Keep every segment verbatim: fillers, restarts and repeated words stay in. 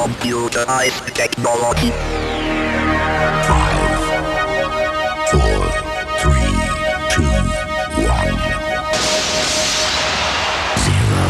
computerized technology. Five, four, three, two, one, zero.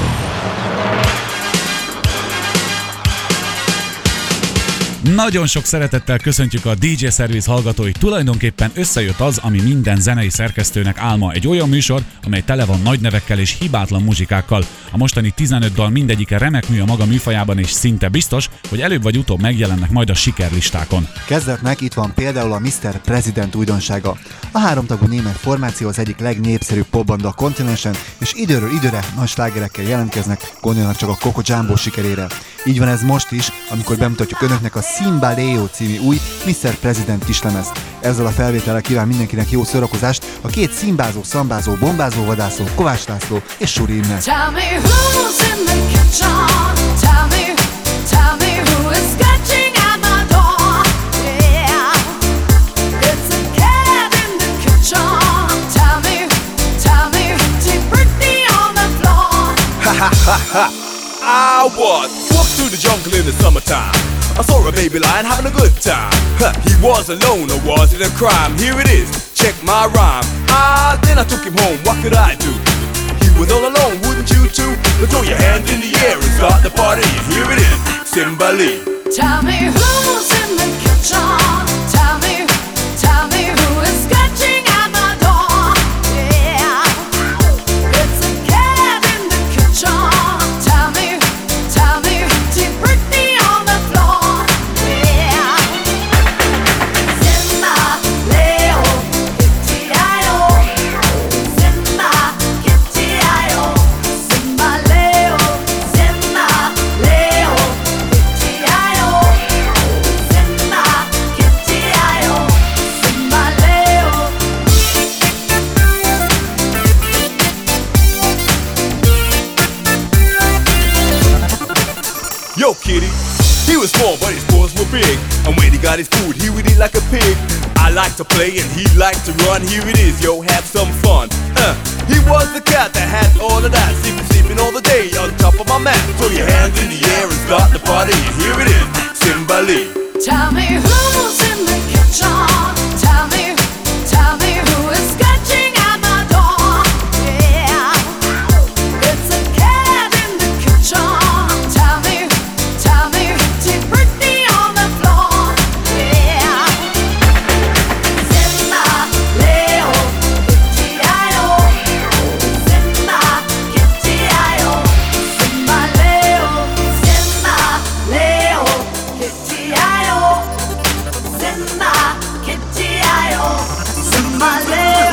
Nagyon sok szeretettel köszöntjük a dé dzsé Service hallgatóit. Tulajdonképpen összejött az, ami minden zenei szerkesztőnek álma. Egy olyan műsor, amely tele van nagy nevekkel és hibátlan muzsikákkal. A mostani tizenöt dal mindegyike remek mű a maga műfajában, és szinte biztos, hogy előbb vagy utóbb megjelennek majd a sikerlistákon. Kezdetnek itt van például a miszter President újdonsága. A háromtagú német formáció az egyik legnépszerűbb popbanda a kontinensen, és időről időre nagy slágerekkel jelentkeznek, gondolnak csak a Coco Jumbo sikerére. Így van ez most is, amikor bemutatjuk önöknek a Simba Leo című új miszter President kislemezt. Ezzel a felvétellel kíván mindenkinek jó szórakozást a két szimbázó, szambázó, bombázó vadászó, Kovács László és Suri Imre. Tell me who's in the kitchen. Tell me, tell me who is scratching at my door. Yeah, it's a cat in the kitchen. Tell me, tell me, Deep Britney on the floor. Ha ha ha ha! I was walked through the jungle in the summertime. I saw a baby lion having a good time. Huh, he was alone, or was it a crime? Here it is, check my rhyme. Ah, then I took him home, what could I do? He was all alone, wouldn't you too? Now throw your hands in the air and start the party. Here it is, Simba Lee. Tell me who's in the kitchen. Tell me, tell me who is scratching at my door. Yeah, it's a cat in the kitchen. Tell me, tell me, Deep Britney on the floor. Yeah, Simba, Leo, Kitty-I-O. Simba, Kitty-I-O. Simba, Leo, Simba, Leo, Kitty-I-O. Simba, Kitty-I-O. Simba, Leo. Yo, kitty. He was small, but his paws were big. And when he got his food, he would eat like a pig. I like to play and he liked to run. Here it is, yo, have some fun. Uh, he was the cat that had all of that. Sleeping, sleeping all the day on top of my mat. Throw your hands in the air and start the party. Here it is, Simba Lee. Tell me who's in the kitchen. Tell me, tell me who is scratching at my door. Yeah, it's a cat in the kitchen. Tell me, tell me, Deep Britney on the floor. Yeah, Simba, Leo, Kitty-I-O. Simba, Kitty-I-O. Simba, Leo, Simba, Leo, Kitty-I-O. Simba, Kitty-I-O. Simba, Leo.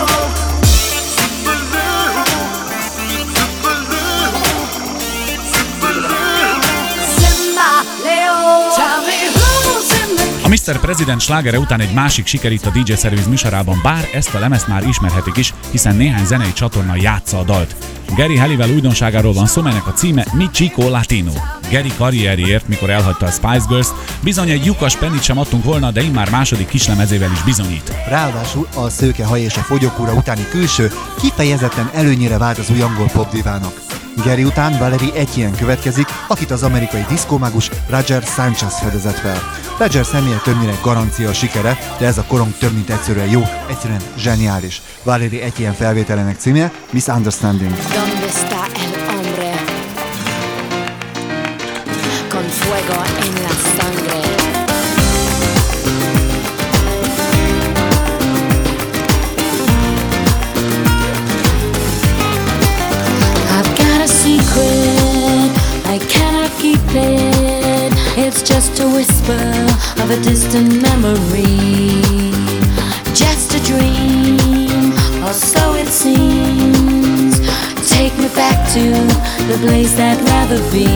Simba, Leo. Tell me who's in the A miszter President slágere után egy másik siker itt a dé dzsé Service műsorában, bár ezt a lemezt már ismerhetik is, hiszen néhány zenei csatorna játsza a dalt. Gary Halliwell újdonságáról van szó, melynek a címe Mi Chico Latino. Gary karrierjéért, mikor elhagyta a Spice Girls, bizony egy lyukas pennit sem adtunk volna, de immár második kislemezével is bizonyít. Ráadásul a szőke haj és a fogyókúra utáni külső kifejezetten előnyére vált az új angol popdivának. Gary után Valerie Etienne következik, akit az amerikai diszkómágus Roger Sanchez fedezett fel. Roger személye többnyire garancia a sikere, de ez a korong több mint egyszerűen jó, egyszerűen zseniális. Valerie Etienne felvételének címe Misunderstanding. ¿Dónde está el hombre? Con fuego en la sangre. I've got a secret, I cannot keep it. It's just a whisper of a distant memory. Just a dream, or so it seems. Take me back to the place I'd rather be.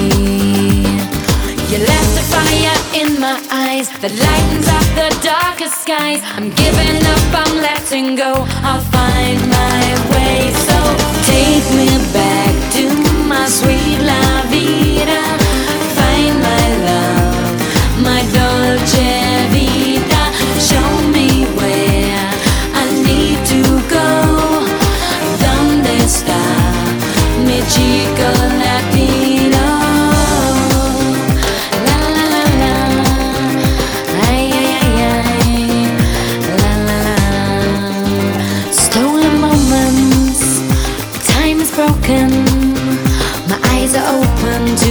You left a fire in my eyes that lightens up the darkest skies. I'm giving up, I'm letting go. I'll find my way. So take me back to my sweet la vida. Find my love, my dolce vita. Show me where I need to go. ¿Dónde está mi chico latino? La la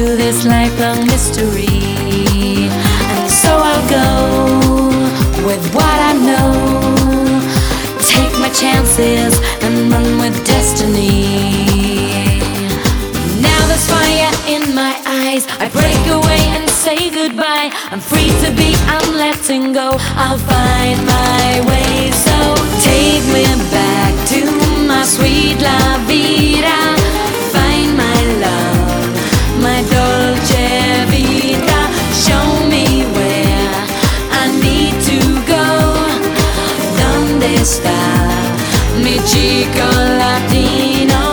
to this lifelong mystery. And so I'll go with what I know, take my chances and run with destiny. Now there's fire in my eyes, I break away and say goodbye. I'm free to be, I'm letting go, I'll find my way. So take me back to my sweet la vida, find my love, my dolce vita. Show me where I need to go. ¿Dónde está mi chico latino?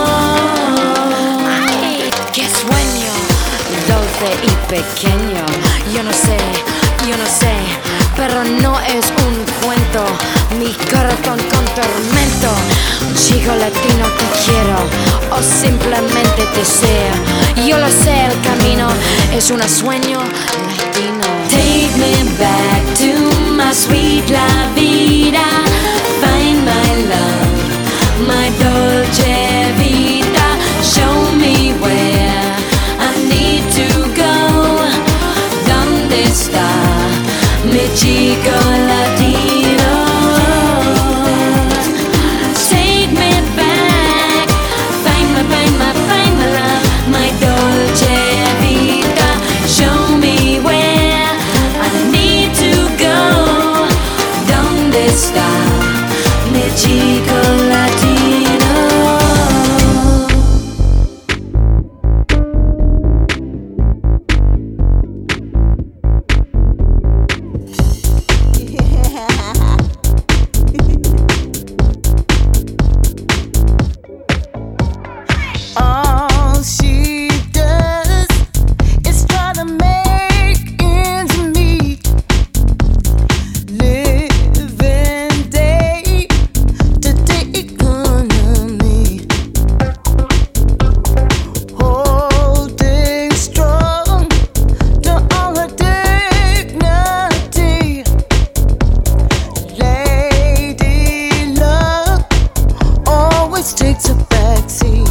Ay, qué sueño dulce y pequeño. Yo no sé, yo no sé, pero no es un cuento. Mi corazón con tormento. Chico latino te quiero o simplemente te deseo. Yo lo sé, el camino es un sueño latino. Take me back to my sweet la vida, find my love, my dolce vita. Show me where I need to go. ¿Dónde está mi chico latino? Take me back, find my, find my, find my love, my dolce vita. Show me where I need to go. ¿Dónde está mi chico latino? All she does is try to make ends meet, living day to day economy, holding strong to all her dignity. Lady luck always takes a backseat.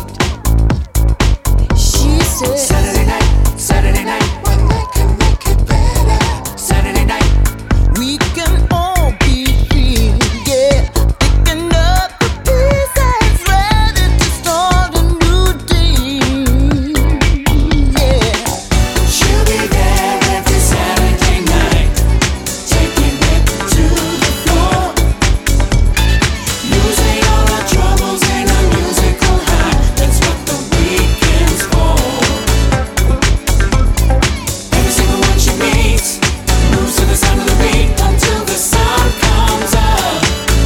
She said Saturday night, Saturday night, when they can make it better. Saturday night, we can all be free, yeah. Picking up the pieces, ready to start a new day, yeah. she'll be there every Saturday night, taking it to the floor, losing all our troubles in a musical high. That's what the weekend's for. Every single one she meets moves to the sound of the beat until the sun comes up.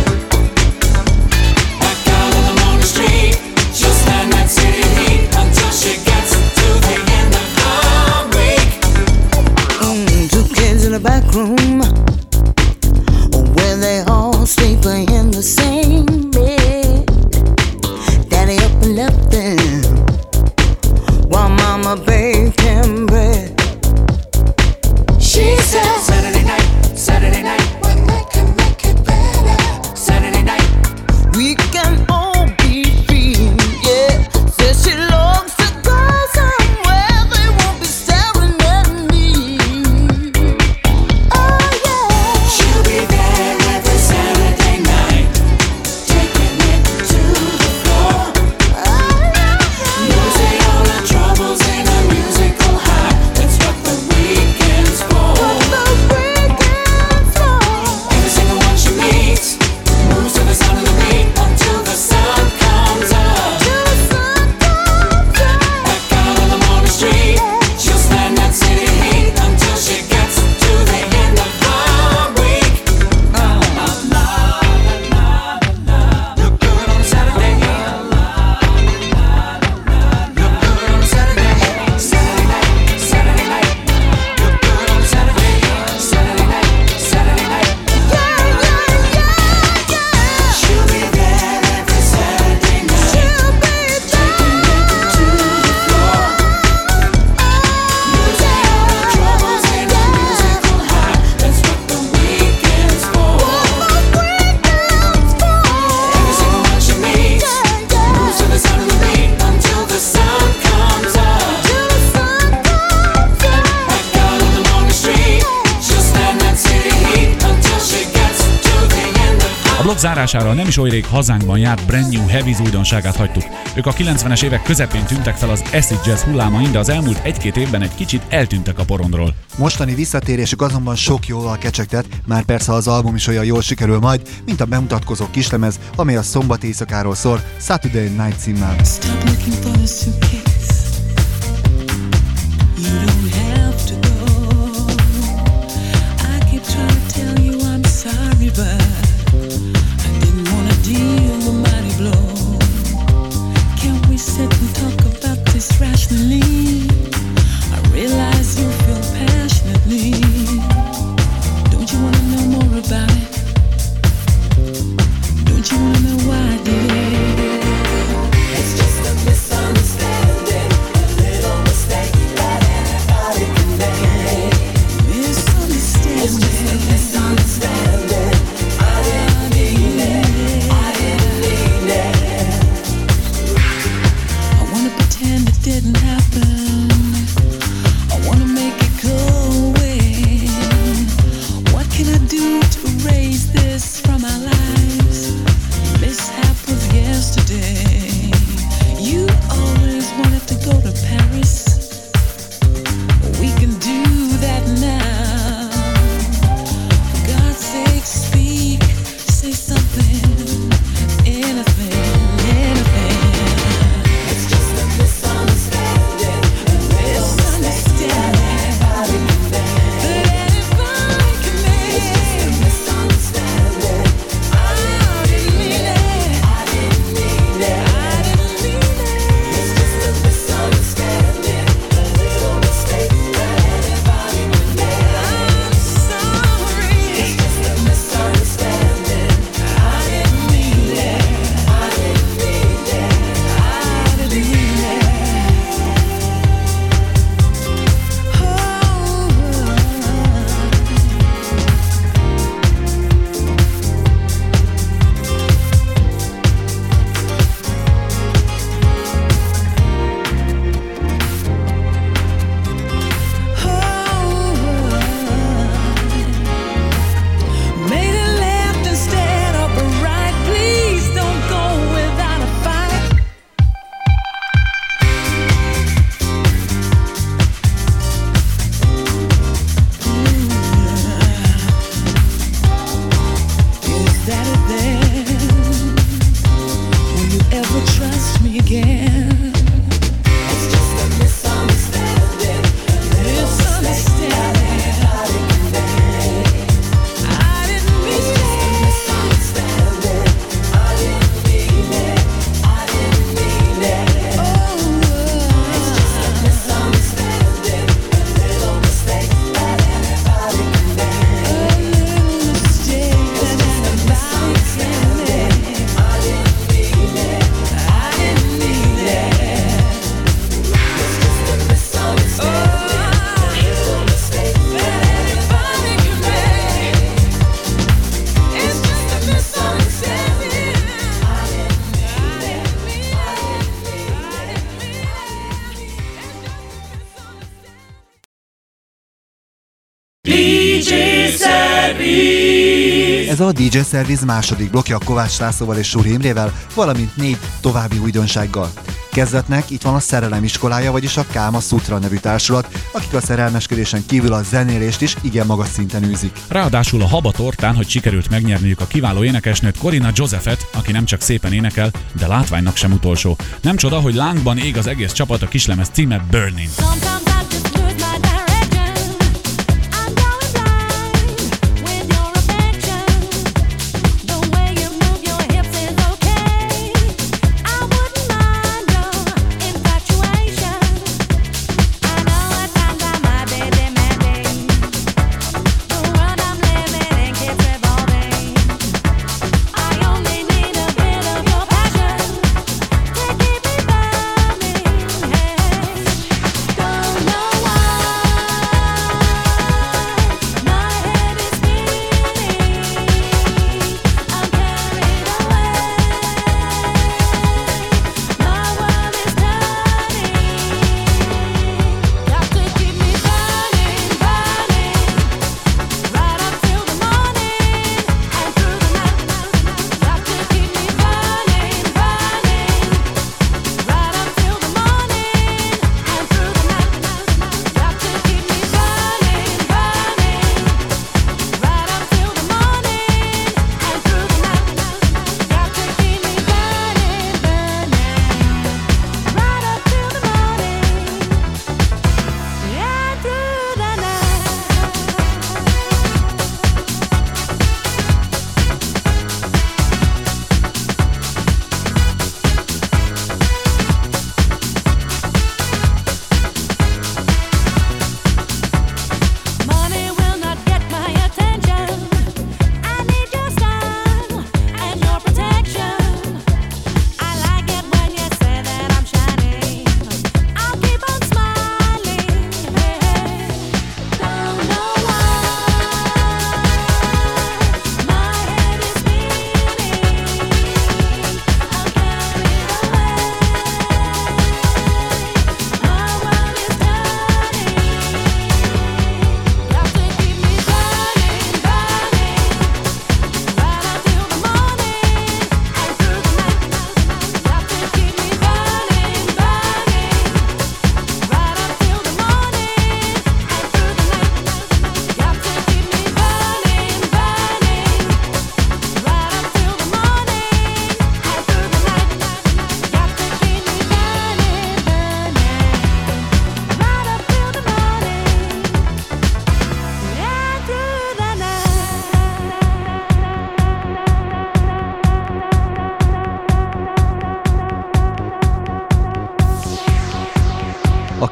Back out on the morning street, she'll stand that city heat until she gets to the end of the week. Mm, two kids in the back room where they all sleep in the same bed. Daddy up and left them while mama baking bread. She said Saturday night, Saturday night, when they can make it better. Saturday night, We can all be free, yeah. Says she longs to go somewhere they won't be staring at me. Oh Zárására nem is oly rég hazánkban járt Brand New Heavies újdonságát hagytuk. Ők a kilencvenes évek közepén tűntek fel az acid jazz hullámain, de az elmúlt egy-két évben egy kicsit eltűntek a porondról. Mostani visszatérésük azonban sok jóval kecsegtet, már persze az album is olyan jól sikerül majd, mint a bemutatkozó kislemez, amely a szombat éjszakáról szól, Saturday Night címmel. Stop looking for the suitcase. You don't have to go. I keep trying to tell you I'm sorry, but I didn't want to deal the mighty blow. Can't we sit and talk about this rationally? I realize you feel passionately. Don't you want to know more about it? Don't you want to know why I did it? It's just a misunderstanding, a little mistake that anybody can make. Misunderstanding. It's just a misunderstanding. I didn't mean it. I didn't mean it. I wanna pretend it didn't happen. I wanna make it go away. What can I do to erase this from our lives? Mishap of yesterday. You always wanted to go to Paris. We can do that now. For God's sake, speak, say something, anything, anything. It's just a misunderstanding, a misunderstanding that anybody can make. It's just a misunderstanding. I didn't mean it. I didn't mean it. I didn't mean it. It's just a misunderstanding, a little mistake that anybody can make. I'm sorry. It's just a misunderstanding. I didn't mean it. I didn't mean it. I didn't mean it. Made it left instead of a right. Please don't go without a fight. Is that it then? Will you ever trust me again? It's just a misunderstanding. Misunderstanding. I didn't mean it. Misunderstanding. I didn't mean it. I didn't mean it. Oh, it's just a misunderstanding, a little mistake that anybody can make. A little mistake that anybody can make. I didn't mean it. I didn't mean it. It's just a misunderstanding, a little mistake that anybody can make. It's just a misunderstanding. I didn't mean it. I didn't mean it. dé dzsé Service. Ez a dé dzsé Service második blokja Kovács Lászlóval és Súri Imrével, valamint négy további újdonsággal. Kezdetnek itt van a Szerelem iskolája, vagyis a Káma Sutra nevű társulat, akik a szerelmeskedésen kívül a zenélést is igen magas szinten űzik. Ráadásul a Haba tortán, hogy sikerült megnyerniük a kiváló énekesnőt, Corina Josephet, aki nem csak szépen énekel, de látványnak sem utolsó. Nem csoda, hogy lángban ég az egész csapat, a kislemez címe Burning. Sometimes I just lose my direction. I'm going blind with your affection. The way you move your hips is okay. I wouldn't mind your infatuation. I know at times I might be demanding. The world I'm living in keeps revolving. I only need a bit of your passion to keep me burning. Hey, don't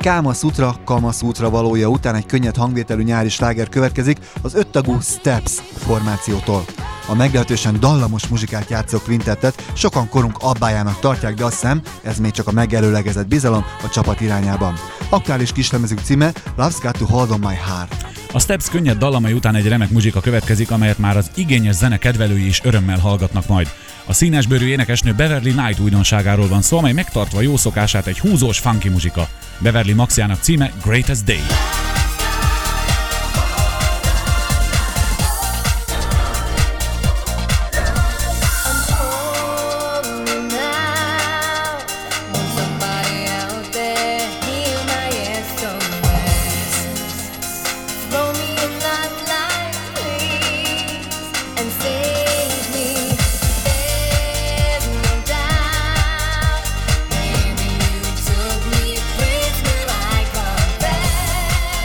Kama Sutra, Kama Sutra valója után egy könnyed hangvételű nyári sláger következik az öttagú Steps formációtól. A meglehetősen dallamos muzsikát játszó kvintettet sokan korunk abbájának tartják, de azt hiszem, ez még csak a megelőlegezett bizalom a csapat irányában. Aktuális kislemezük címe Love's Got to Hold on My Heart. A Steps könnyed dallamai után egy remek muzsika következik, amelyet már az igényes zene kedvelői is örömmel hallgatnak majd. A színesbőrű énekesnő Beverly Knight újdonságáról van szó, amely megtartva jó szokását egy húzós funky muzsika. Beverly Maxiának címe Greatest Day. Took me a place where I confess.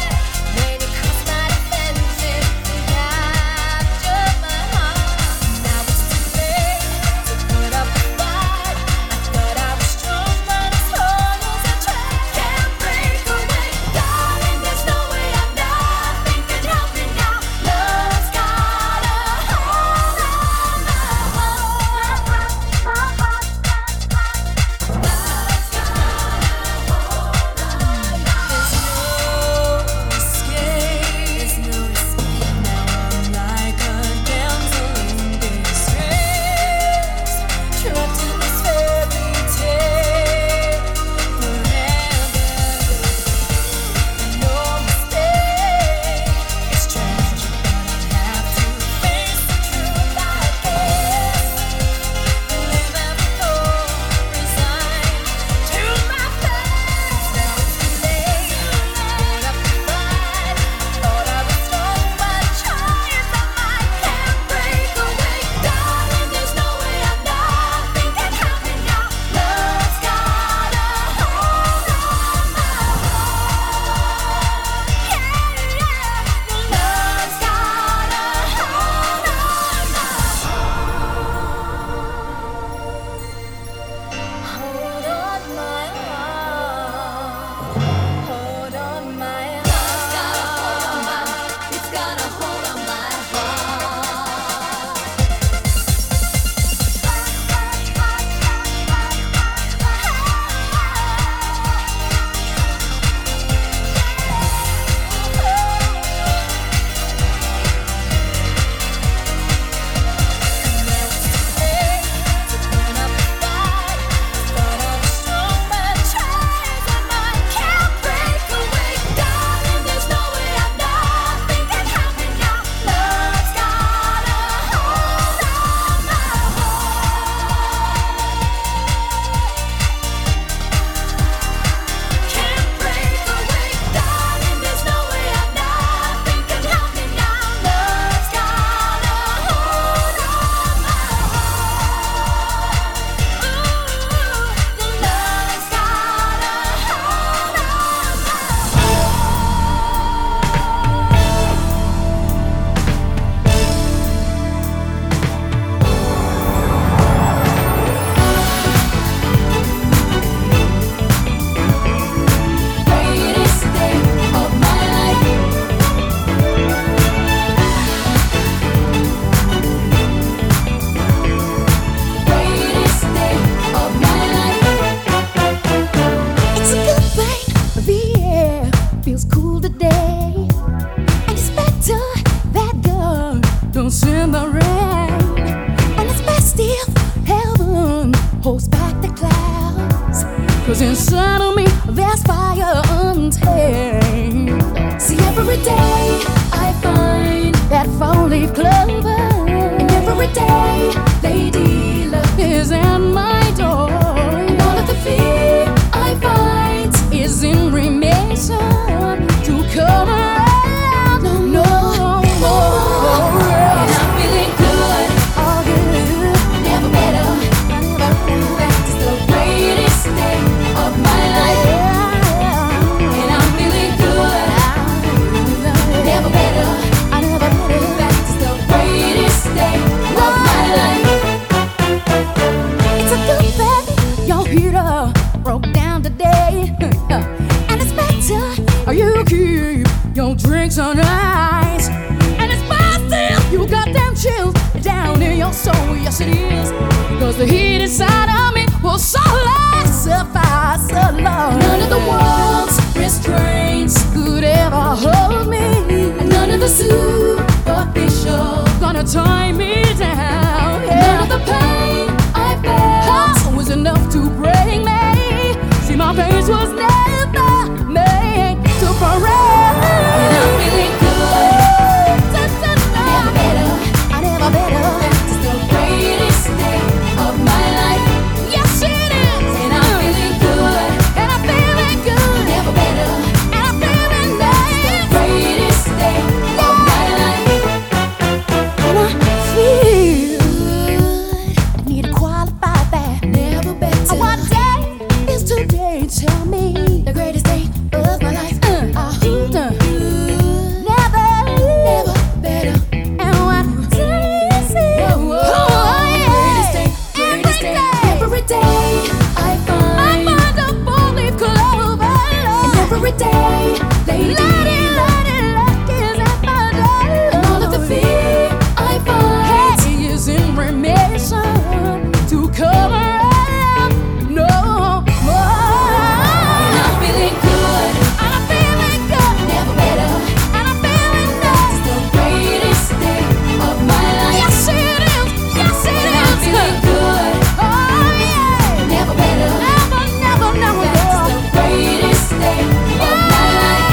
drinks on ice, and it's still you got them chills down in your soul. Yes, it is. Because the heat inside of me will so last, survive so long. None of the world's restraints could ever hold me, and none of the superficial gonna tie me down. Yeah. None of the pain I felt was enough to break me. See, my face was never made to parade. And I'm feeling good. Never better, I never better. It's the greatest day of my life. Yes, it is. And I'm feeling good. And I'm feeling good. Never better. And I'm feeling nice. It's the greatest day of my life. And I feel good. I need to qualify that. Never better. What day is today? Tell me the greatest day of my life. Uh, uh, uh. Never, never better. And what day is it? Oh, yeah. Greatest day, greatest day. Every day I find I find a four-leaf clover. And every day, lady, lady, lady, luck is at my door. And all of the fear I find hey, is in remission to cover up no more. And I'm feeling good. And I'm feeling good. Never better. And I'm feeling nice. It's the greatest day of my life. Yes, it is. Yes, it and is. I'm feeling good. Oh, yeah. Never better. Never, never, never. That's the greatest day of my life.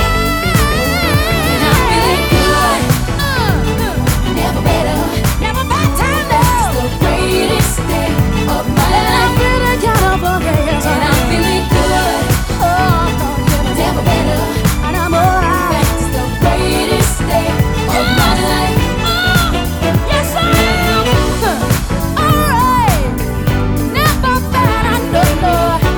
And I'm feeling good. Uh, uh. Never better. Never better. That's the greatest day of my life. I'm feeling kind of amazing. And I'm feeling good. Oh, never better. And I'm alright. It's the greatest day of my life. Yes, I am. Alright. Never better. No, no.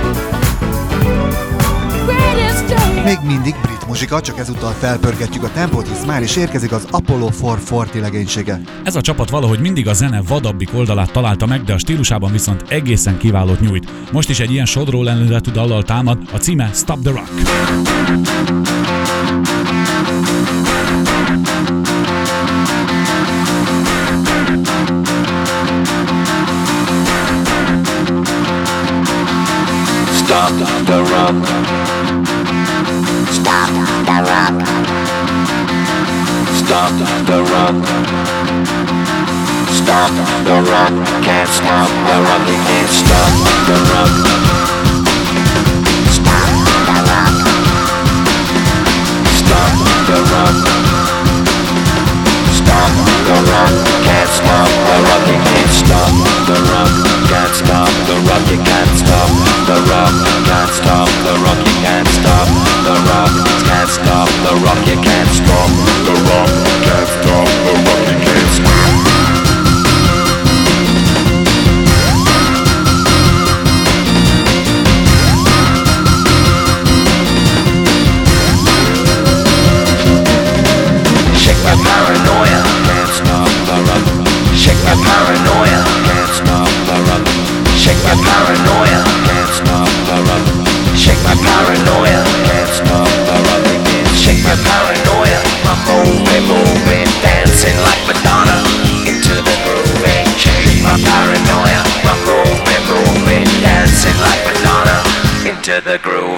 Greatest day. Még mindig brit muzsika, csak ezúttal felpörgetjük a tempót, hisz már is érkezik az Apollo négyszázharminc legénysége. Ez a csapat valahogy mindig a zene vadabbik oldalát találta meg, de a stílusában viszont egészen kiválót nyújt. Most is egy ilyen sodró lendületű dallal támad, a címe Stop the Rock. Stop the rock. Stop the rock. Stop the rock. Stop the rock. Can't stop the rock. You can't stop the rock. Stop the rock. Stop the rock. Stop the rock. Can't stop the rock. You can't stop the rock. Can't stop the rock. You can't stop the rock. Can't stop the rock. You can't stop the rock. Can't stop the rock. You can't stop the rock. Can't stop the rock. You can't stop. Shake my paranoia. Can't stop the rock. Shake my paranoia. Can't stop the rock. Shake my paranoia. Can't stop the rock. Shake my paranoia. Can't stop the rock. Shake my paranoia. I'm moving, moving, dancing like Madonna into the groove. Shake my paranoia. I'm moving, moving, dancing like Madonna into the groove.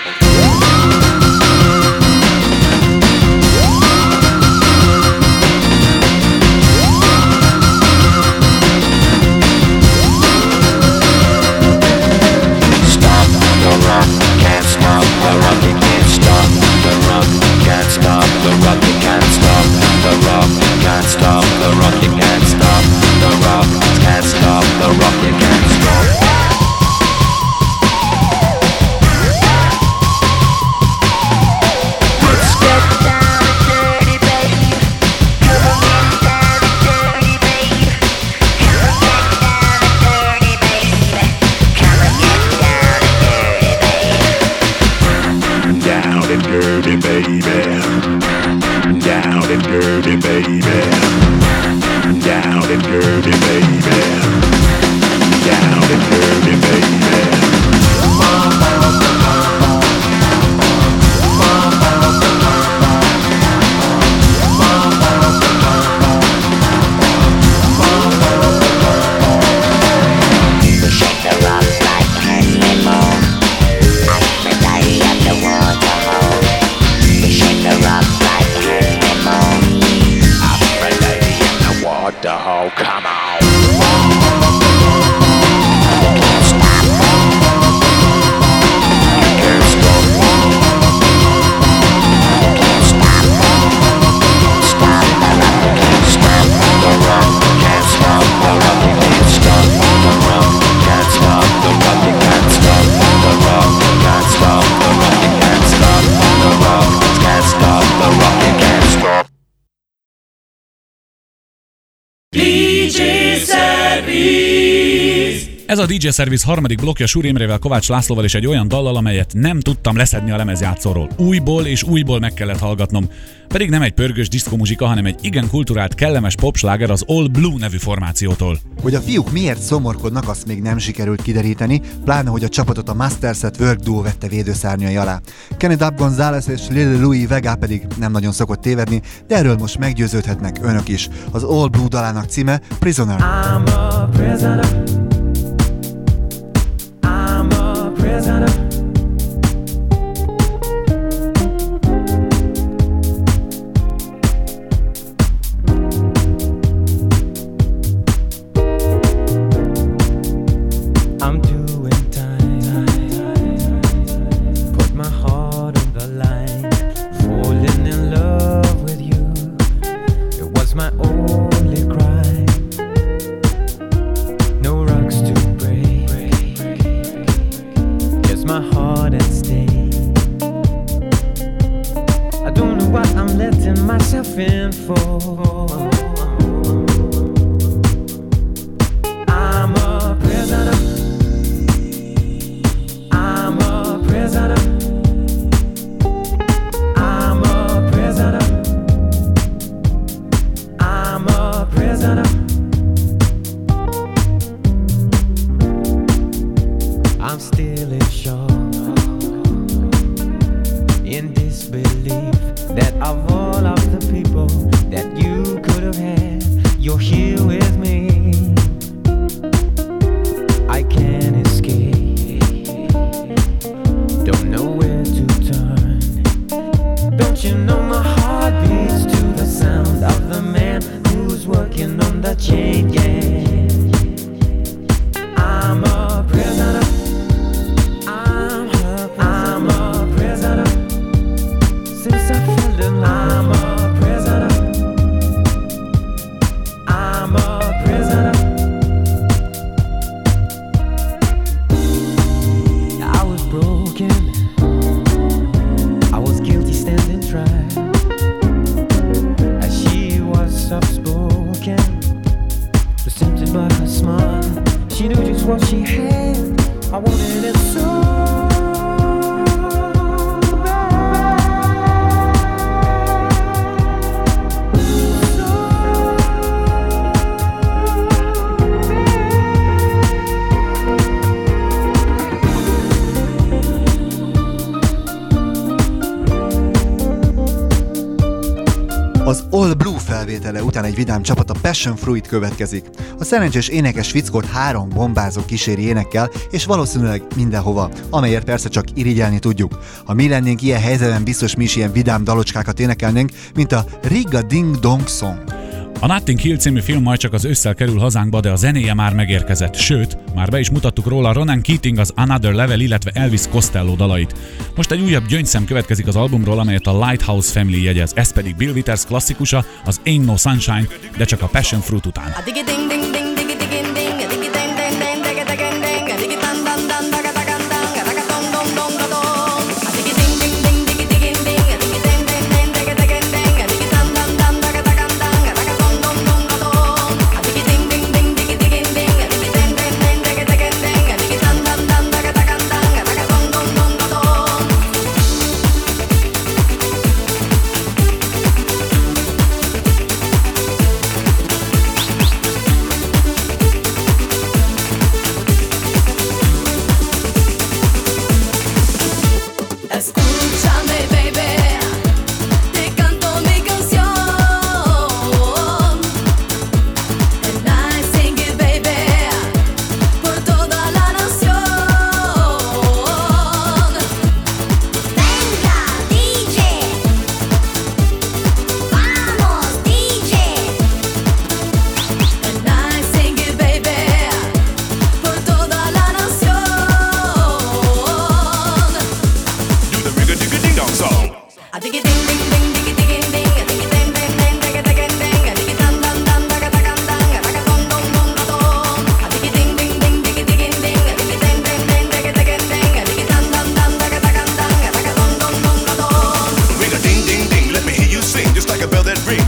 Stop the rock, can't stop the rock, you can't stop the rock, can't stop the rock, you can't stop the rock, can't stop the rock, you can't stop the rock, can't stop the rock, you can't stop. Let's get down and dirty, babe. Come on, get down and dirty, babe. Come on, get down and dirty, babe. Come on, get down and dirty, babe. Down and dirty, baby. Down and dirty, baby. Down and dirty, baby. Down and dirty, baby. Oh, come on. dé dzsé Service. Ez a dé dzsé Service harmadik blokkja Súr Imrével, Kovács Lászlóval és egy olyan dallal, amelyet nem tudtam leszedni a lemezjátszóról. Újból és újból meg kellett hallgatnom. Pedig nem egy pörgős diszkomuzsika, hanem egy igen kulturált, kellemes popsláger az All Blue nevű formációtól. Hogy a fiúk miért szomorkodnak, azt még nem sikerült kideríteni, pláne hogy a csapatot a Masterset Work Duo vette védőszárnyai alá. Kenny Dub González és Lil Louis Vega pedig nem nagyon szokott tévedni, de erről most meggyőződhetnek önök is. Az All Blue dalának címe Prisoner. I'm a prisoner. I'm a prisoner. I'm doing time. Put my heart on the line. Falling in love with you. It was my only crime. No rocks to break. Just my heart at stake. I don't know what I'm letting myself in for. I'm a prisoner. I'm a prisoner. I'm a prisoner. I'm a prisoner. I'm still in shock, in disbelief that of all of the people that you could have had, you're here with me. I can't escape, don't know where to turn. Don't you know my heart beats to the sound of the man who's working on the chain gang. I'm a prisoner. I'm a, I'm a prisoner. Since I fell in love, I'm a prisoner. I'm a prisoner. I was broken. I was guilty standing trial. As she was soft-spoken, was tempted by her smile. She knew just what she had. I wanted it so Az All Blue felvétele után egy vidám csapat, a Passion Fruit következik. A szerencsés énekes fickót három bombázó kíséri énekkel, és valószínűleg mindenhova, amelyért persze csak irigyelni tudjuk. Ha mi lennénk ilyen helyzetben, biztos mi is ilyen vidám dalocskákat énekelnénk, mint a Riga Ding Dong Song. A Notting Hill című film majd csak az ősszel kerül hazánkba, de a zenéje már megérkezett. Sőt, már be is mutattuk róla Ronan Keating az Another Level, illetve Elvis Costello dalait. Most egy újabb gyöngyszem következik az albumról, amelyet a Lighthouse Family jegyez. Ez pedig Bill Withers klasszikusa, az Ain't No Sunshine, de csak a Passion Fruit után. Thank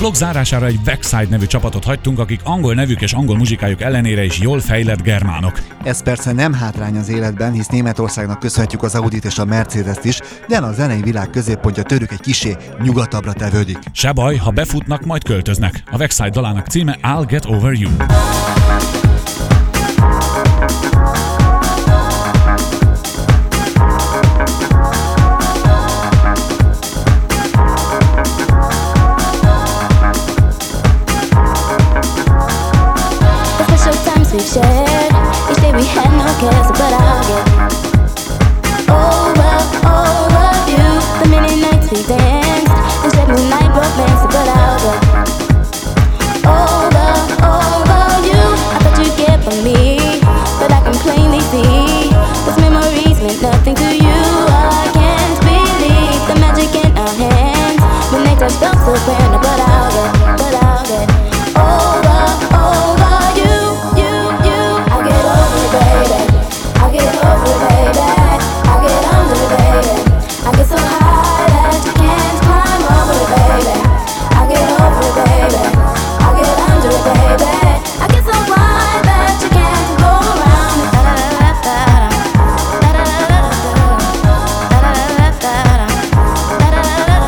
blog zárására egy Backside nevű csapatot hagytunk, akik angol nevük és angol muzsikájuk ellenére is jól fejlett germánok. Ez persze nem hátrány az életben, hisz Németországnak köszönhetjük az Audit és a Mercedes-t is, de a zenei világ középpontja tőlük egy kisé nyugatabbra tevődik. Se baj, ha befutnak, majd költöznek. A Backside dalának címe I'll Get Over You. We've shared, each day we had no cares, but I'll get over, over you. The many nights we danced, and said moonlight romance, but I'll get over, over you. I thought you'd get from me, but I can plainly see those memories meant nothing to you. I can't believe the magic in our hands when they touch felt so grand, but I'll get, but I'll get over, over you. I get so high that you can't climb over it, baby. I get over it, baby. I get under it, baby. I get so wide that you can't go around it. Da da da da da da da da da da da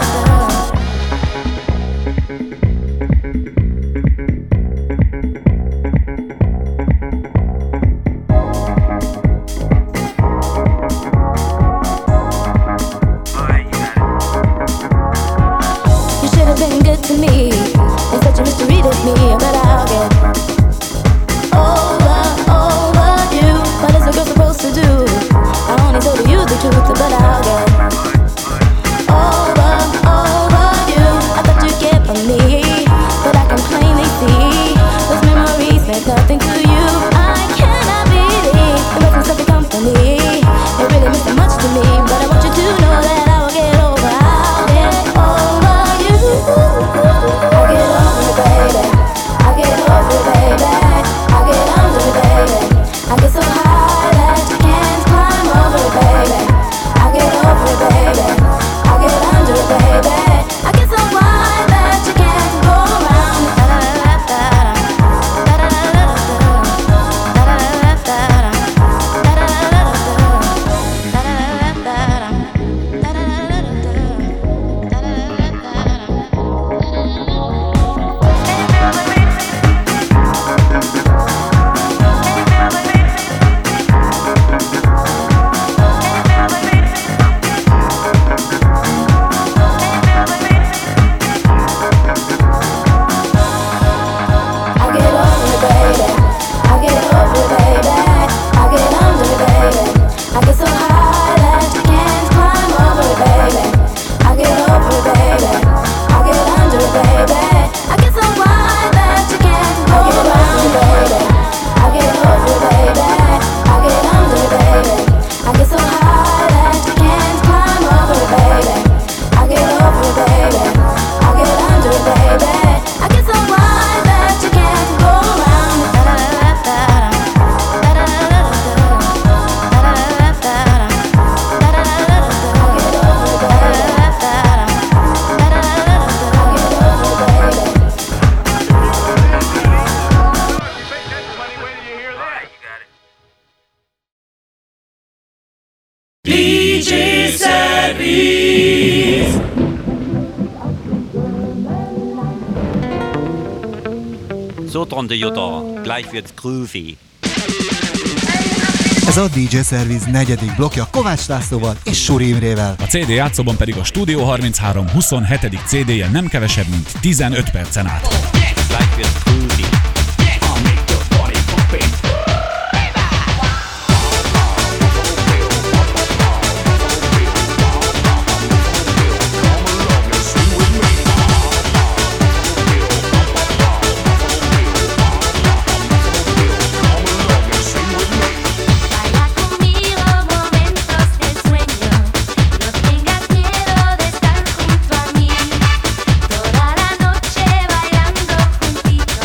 to me, and such a mystery to me, but I'll get over, over you. What is a girl supposed to do? I only told you the truth, but I'll get over, over you. I thought you'd get from me, but I can plainly see those memories meant nothing to you. I cannot believe it wasn't something come for me. It really meant so much to me, but I want you to know that I will get over. I'll get over you. I get over it, baby. I get over it, baby. I get under it, baby. I get so high that you can't climb over it, baby. I get over it, baby. I get under it, baby. I get so wide that you can't go around it. Da da da da da da da da da da da D J Service. So, Tante Jutta, gleich wird's groovy. Ez a dé dzsé Service negyedik blokja Kovács Lászlóval és Suri Imrével. A cé dé játszóban pedig a Studio harminchárom huszonhetedik cé dé-je nem kevesebb, mint tizenöt percen át. Gleich wird's groovy. Toda la noche bailando juntito.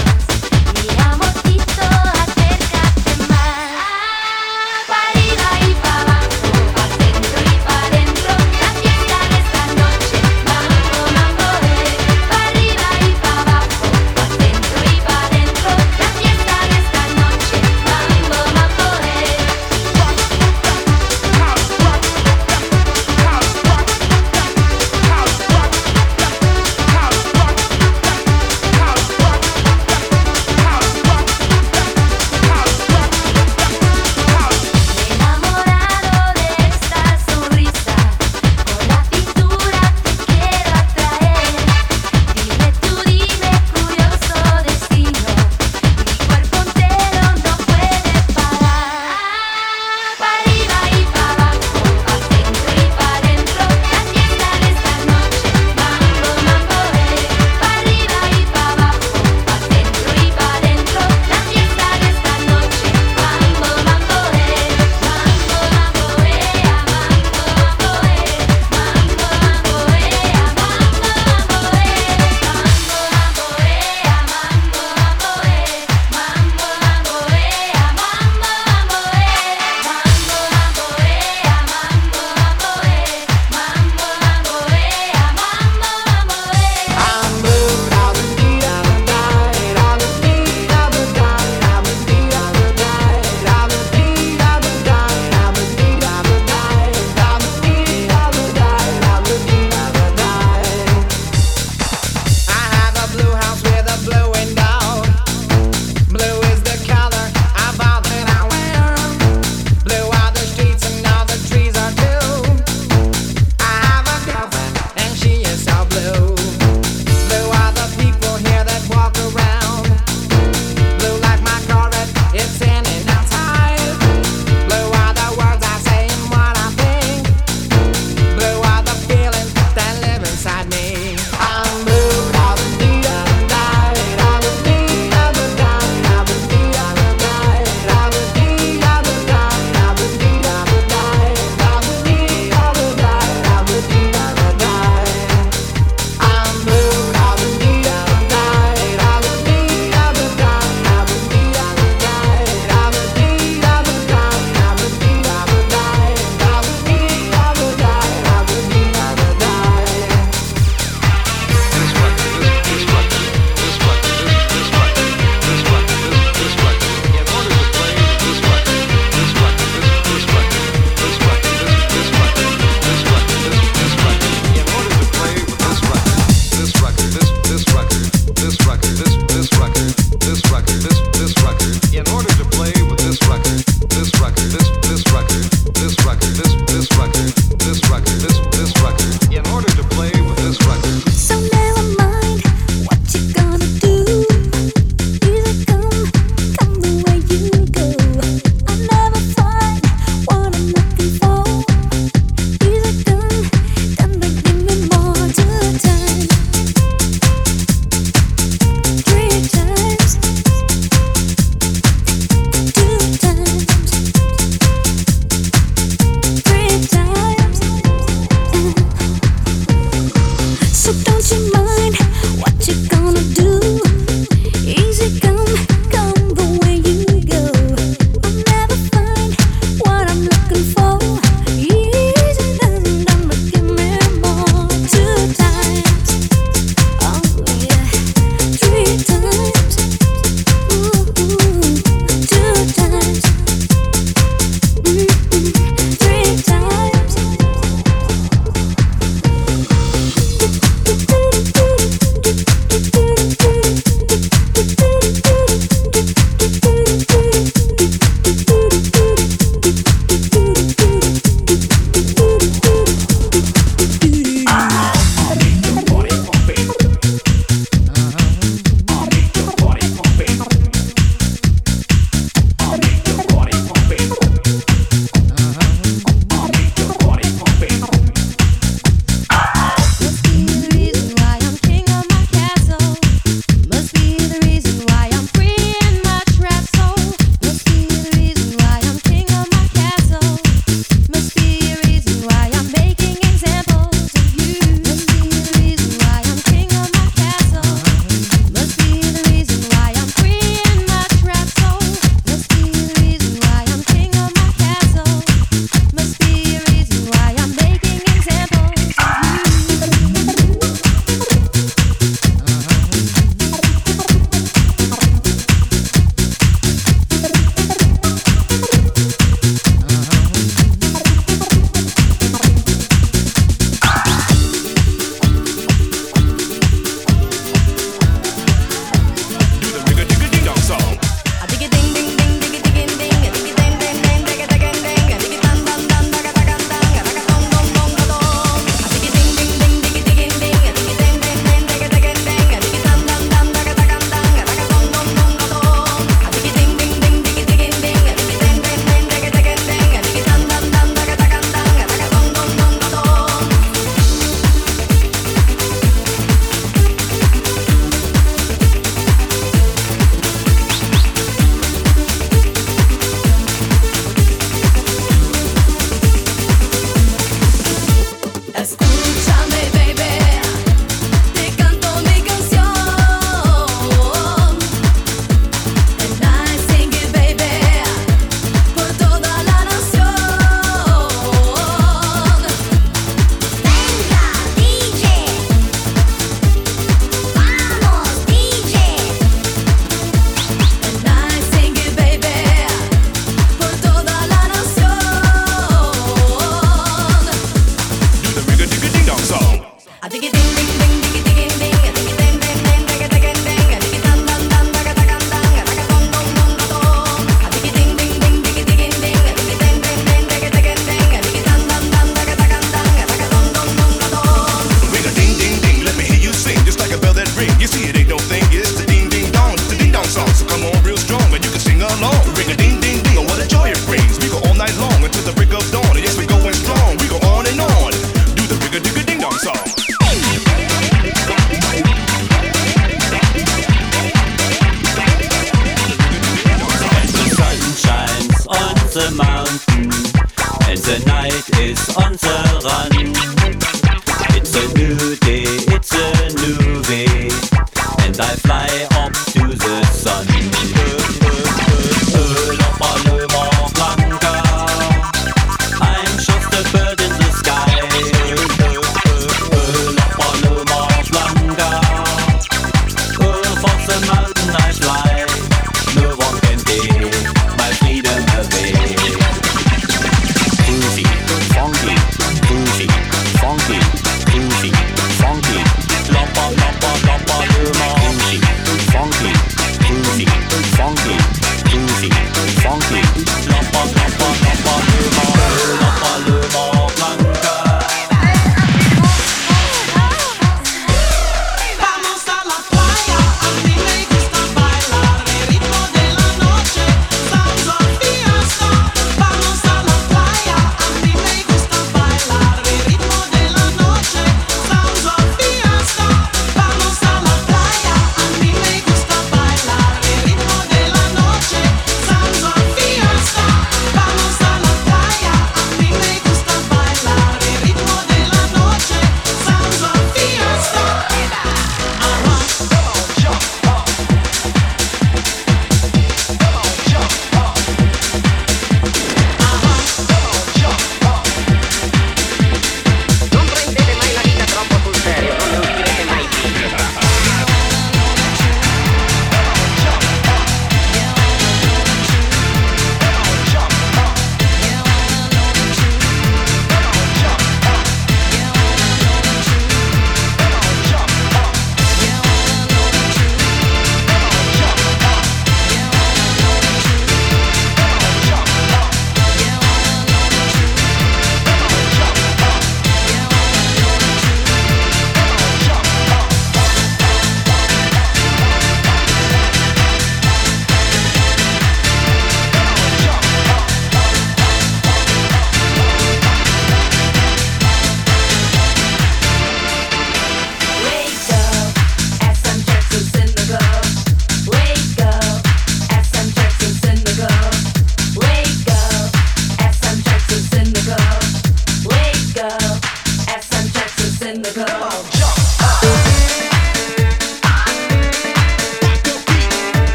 Funky,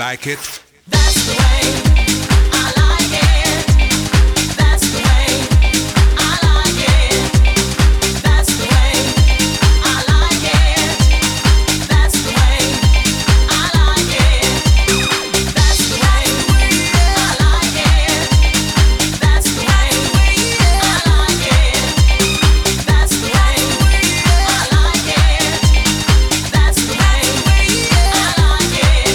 like it? That's the way I like it. That's the way I like it. That's the way I like it. That's the way I like it. That's the way I like it. That's the way I like it. That's the way I like it. That's the way I like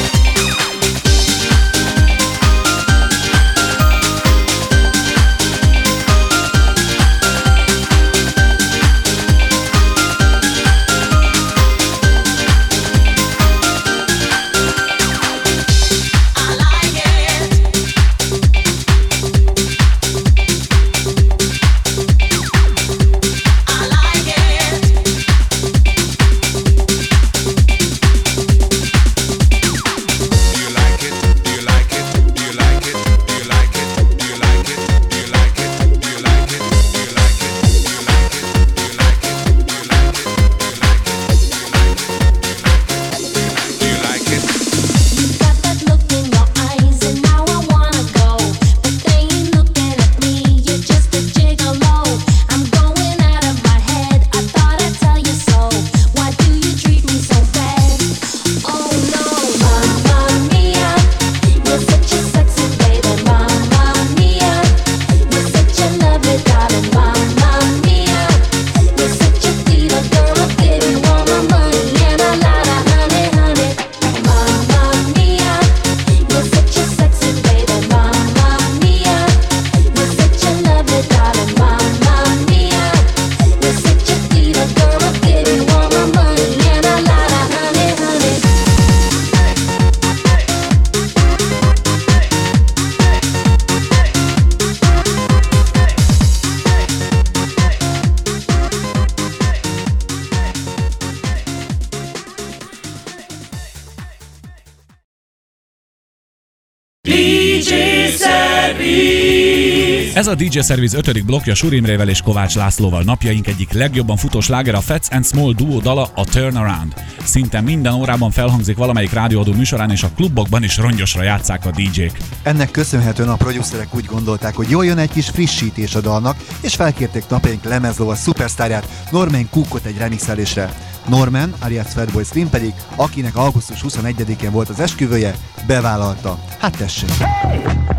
Ez a dé jé Service ötödik blokkja Suri Imrével és Kovács Lászlóval. Napjaink egyik legjobban futó sláger a Fats and Small duo dala, a Turnaround. Szinte minden órában felhangzik valamelyik rádióadó műsorán, és a klubokban is rongyosra játsszák a dé jék. Ennek köszönhetően a producerek úgy gondolták, hogy jól jön egy kis frissítés a dalnak, és felkérték napjaink lemezlova szupersztárját, Norman Cookot egy remixelésre. Norman, alias Fatboy Slim pedig, akinek augusztus huszonegyedikén volt az esküvője, bevállalta. Hát tessék! Hey!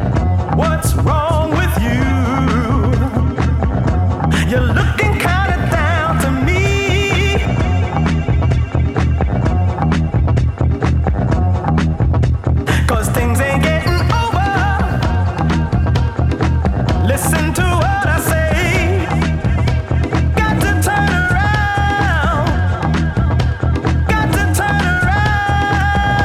What's wrong with you? You're looking kinda down to me. Cause things ain't getting over. Listen to what I say. Got to turn around. Got to turn around.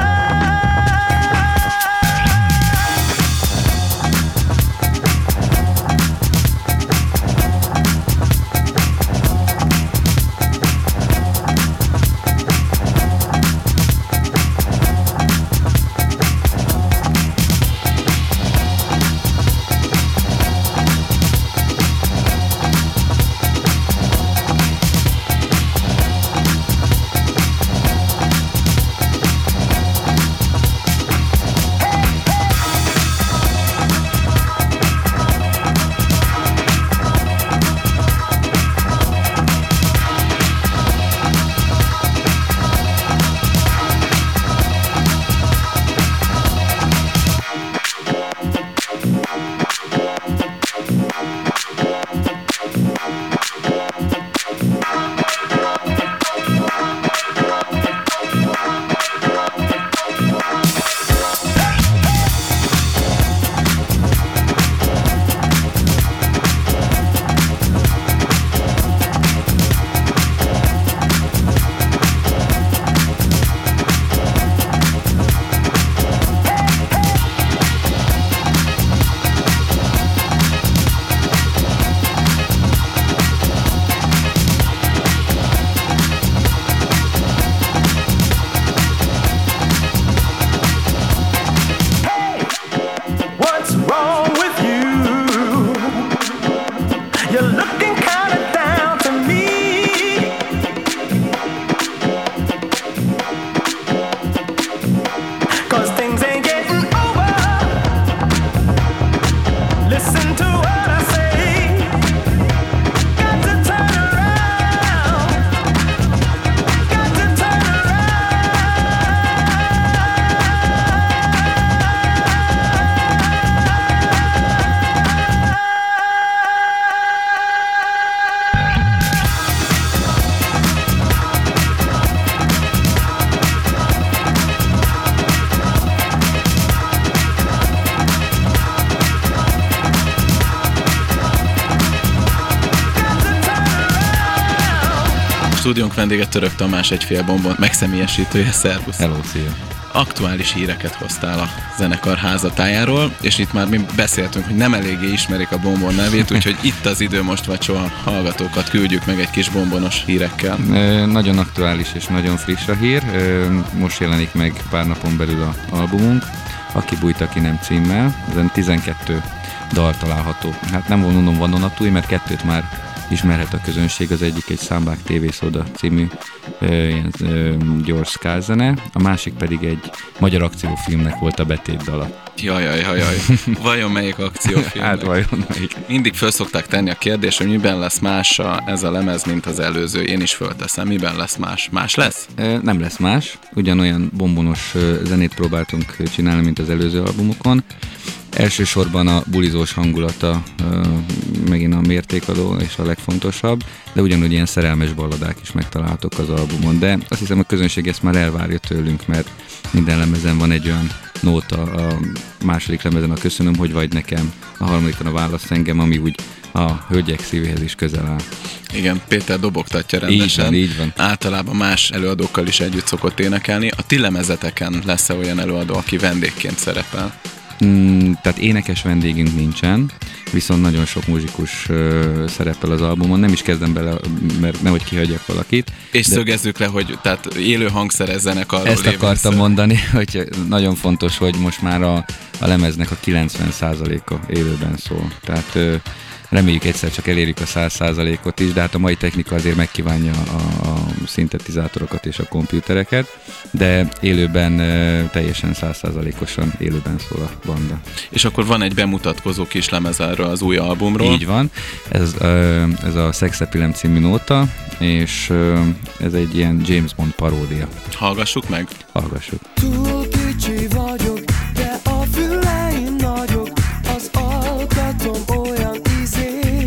stúdiónk vendége Török Tamás, egy fél bombon megszemélyesítője, szervusz. Hello, szia. Aktuális híreket hoztál a zenekar házatájáról, és itt már mi beszéltünk, hogy nem eléggé ismerik a Bombon nevét, úgyhogy itt az idő most, vagy soha hallgatókat küldjük meg egy kis bombonos hírekkel. Ö, nagyon aktuális és nagyon friss a hír. Ö, most jelenik meg pár napon belül a albumunk, Aki bújt, aki nem címmel. Ezen tizenkettő dal található. Hát nem vonunom vadonatúj, mert kettőt már ismerhet a közönség, az egyik egy Számbák té vé Szóda című ö, ilyen, ö, gyors skázene, a másik pedig egy magyar akciófilmnek volt a betétdala. Jajaj, jajaj. Vajon melyik akciófilm? Hát vajon melyik? Mindig föl szokták tenni a kérdést, hogy miben lesz más a, ez a lemez, mint az előző. Én is fölteszem, miben lesz más? Más lesz? Ö, nem lesz más. Ugyanolyan bombonos ö, zenét próbáltunk csinálni, mint az előző albumokon. Elsősorban a bulizós hangulata ö, megint a mértékadó és a legfontosabb, de ugyanúgy ilyen szerelmes balladák is megtalálhatók az albumon. De azt hiszem, a közönség ezt már elvárja tőlünk, mert minden lemezen van egy olyan nóta, a második lemezen a Köszönöm, hogy vagy nekem, a harmadikon a Válasz engem, ami úgy a hölgyek szívéhez is közel áll. Igen, Péter dobogtatja rendesen. Így van, így van. Általában más előadókkal is együtt szokott énekelni. A ti lemezeteken lesz-e olyan előadó, aki vendégként szerepel? Mm, tehát énekes vendégünk nincsen, viszont nagyon sok muzsikus uh, szerepel az albumon, nem is kezdem bele, mert nehogy kihagyjak valakit. És de szögezzük le, hogy tehát élő hangszeres zenekarról ezt akartam szó. mondani, hogy nagyon fontos, hogy most már a, a lemeznek a kilencven százaléka élőben szól. Tehát uh, reméljük egyszer csak elérjük a száz százalékot is, de hát a mai technika azért megkívánja a, a szintetizátorokat és a kompjútereket, de élőben e, teljesen száz százalékosan élőben szól a banda. És akkor van egy bemutatkozó kis lemez erről az új albumról. Így van, ez, e, ez a Sex Appeal című nóta, és e, ez egy ilyen James Bond paródia. Hallgassuk meg? Hallgassuk. Túl kicsi vagyok, de a füleim nagyok, az alkatom olyan izé.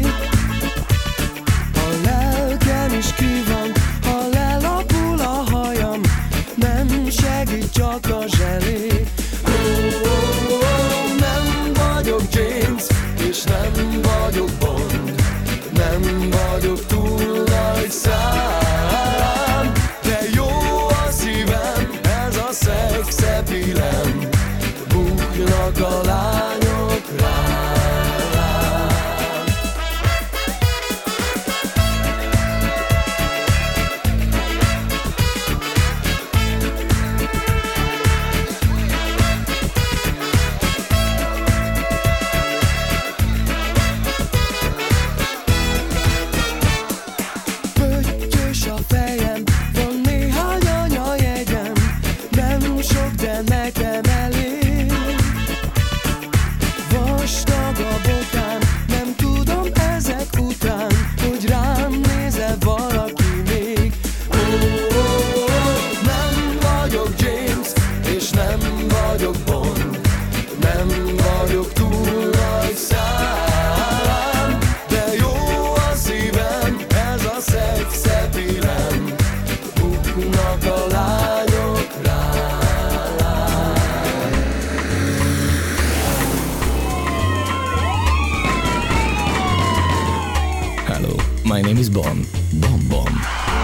A lelkem is ki van, ha lelapul a hajam, nem segít csak a zselé. Ó, ó, ó, nem vagyok James, és nem vagyok Bond, nem vagyok túl nagy szám, de jó a szívem, ez a sex appeal-em, buknak a lányok rám. Pöttyös a fejem, van néhány anyajegyem, nem sok, de nekem elég. Vastag a bokám, nem tudom ezek után, hogy rám nézel valaki még. Ó, ó, ó, nem vagyok James, és nem vagyok Bond, nem vagyok túl nagy szám, de jó a szívem, ez a sex appeal-em, buknak a lányok rám. Hello, my name is Bon. Bon Bon.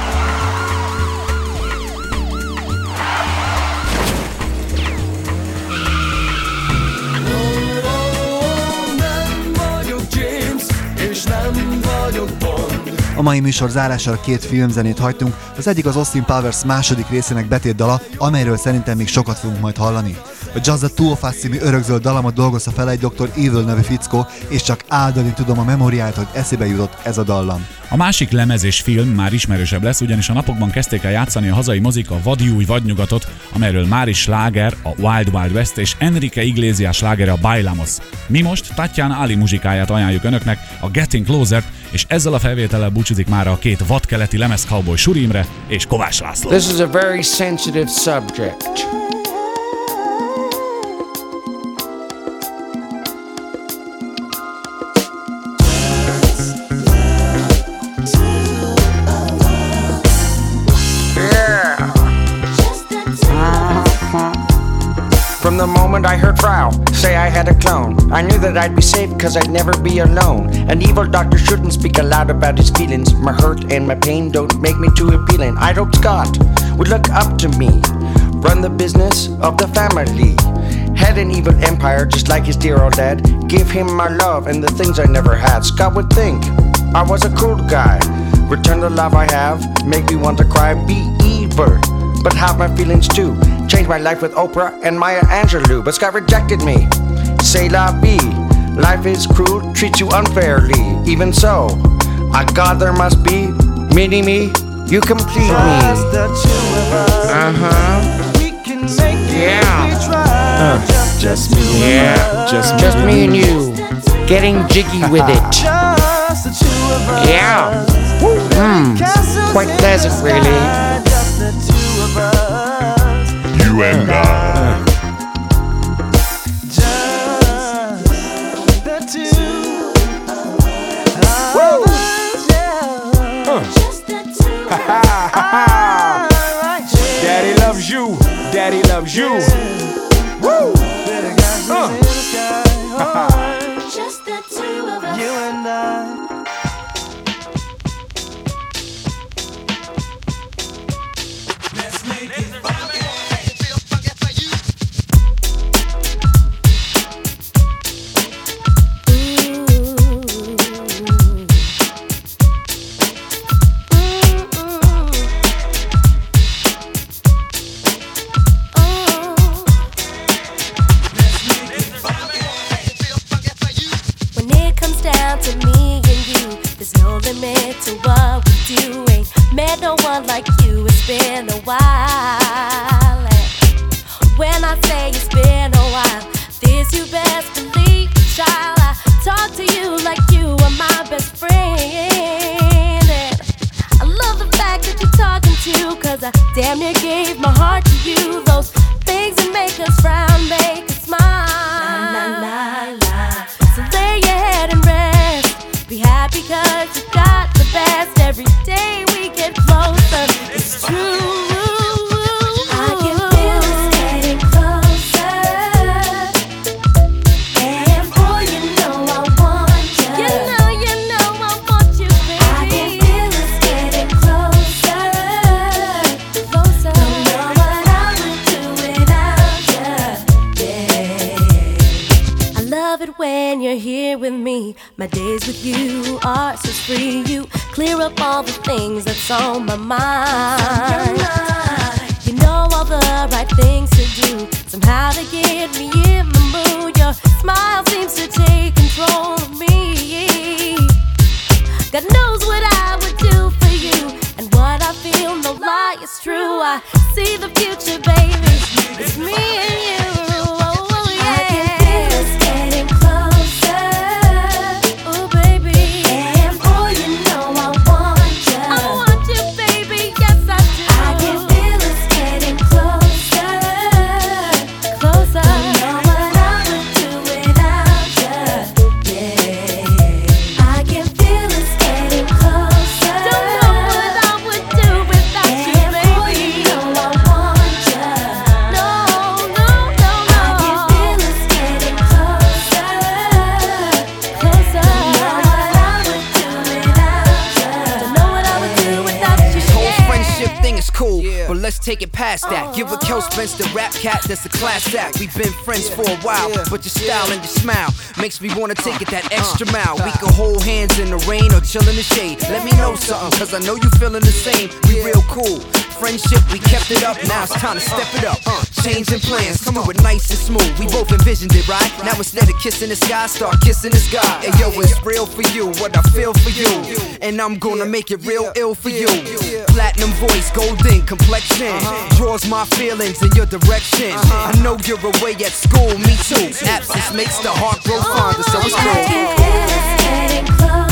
Nem vagyok James, és nem vagyok Bond. A mai műsor zárására két filmzenét hagytunk, az egyik az Austin Powers második részének betétdala, amelyről szerintem még sokat fogunk majd hallani. A Just the Two of Us című örökzöld dalamot dolgozta fel egy doktor Evil nevű fickó, és csak áldani tudom a memóriát, hogy eszébe jutott ez a dallam. A másik lemez és film már ismerősebb lesz, ugyanis a napokban kezdték el játszani a hazai mozik a Vadi új vadnyugatot, amelyről már is sláger a Wild Wild West és Enrique Iglesias slágere a Bailamos. Mi most Tatjana Ali muzsikáját ajánljuk önöknek, a Getting Closer-t, és ezzel a felvétellel búcsúzik már a két vadkeleti lemez cowboy Suri Imre és Kovács László. This is a very sensitive subject. From the moment I heard Frau say I had a clone, I knew that I'd be safe cause I'd never be alone. An evil doctor shouldn't speak aloud about his feelings. My hurt and my pain don't make me too appealing. I'd hoped Scott would look up to me, run the business of the family. Had an evil empire just like his dear old dad. Give him my love and the things I never had. Scott would think I was a cool guy. Return the love I have, make me want to cry. Be evil, but have my feelings too. Change my life with Oprah and Maya Angelou. But Scott rejected me. C'est la vie. Life is cruel, treats you unfairly. Even so, I God there must be. Mini me, you complete me. Just the two of us. Uh-huh. We can make it Yeah. if we try. Just, just me Yeah, and us. just, just me and you. Getting jiggy with it. Just the two of us. Yeah. Mm, quite pleasant, really. Just the two of us. You and I. Just the two of us. Yeah. Just the two of us. Daddy loves you. Daddy loves you. Woo! Uh. Just the two of us. You and I. When it comes down to me and you, there's no limit to what we do. Ain't met no one like you, it's been a while. And when I say it's been a while, this you best believe, child. I talk to you like you are my best friend. And I love the fact that you're talking to, cause I damn near gave my heart to you. Those things that make us frown, make us smile. La, la, la, la. So lay your head and rest. Be happy cause you got the best. Every day we get closer. It's true. I can feel us getting closer. And boy, you know I want you. You know, you know I want you, baby. I can feel us getting closer. Closer. Don't know what I would do without you. Yeah. I love it when you're here with me. My days with you are so free. You clear up all the things that's on my mind. You know all the right things to do, somehow to get me in the mood. Your smile seems to take control of me. God knows what I would do for you, and what I feel, no lie, it's true. I see the future, baby. It's me and you. Oh, yeah. I can feel us getting closer. Oh, baby. And boy, you know I want you. I want you, baby. Yes, I do. I can feel us getting closer. Closer. Don't know what I would do without you. Yeah. I can feel us getting closer. Don't know what I would do without you, baby. And boy, you know I want you. No, no, no, no. I can feel us getting closer. Closer. Don't know what I would do without you. Don't know what I would do without you. This whole Yeah. friendship thing is cool, but let's take it past that. Give a Kel Spence the rap cat, that's a class act. We've been friends for a while, but your style and your smile makes me wanna take it that extra mile. We can hold hands in the rain or chill in the shade. Let me know something, cause I know you feeling the same. We real cool. Friendship, we kept it up, now it's time to step it up. Uh, changing plans, come with nice and smooth. We both envisioned it, right? Now instead of kissing the sky, start kissing the sky. And yo, it's real for you, what I feel for you. And I'm gonna make it real ill for you. Platinum voice, golden complexion, draws my feelings in your direction. I know you're away at school, me too. Absence makes the heart grow fonder, so it's I can feel us getting closer.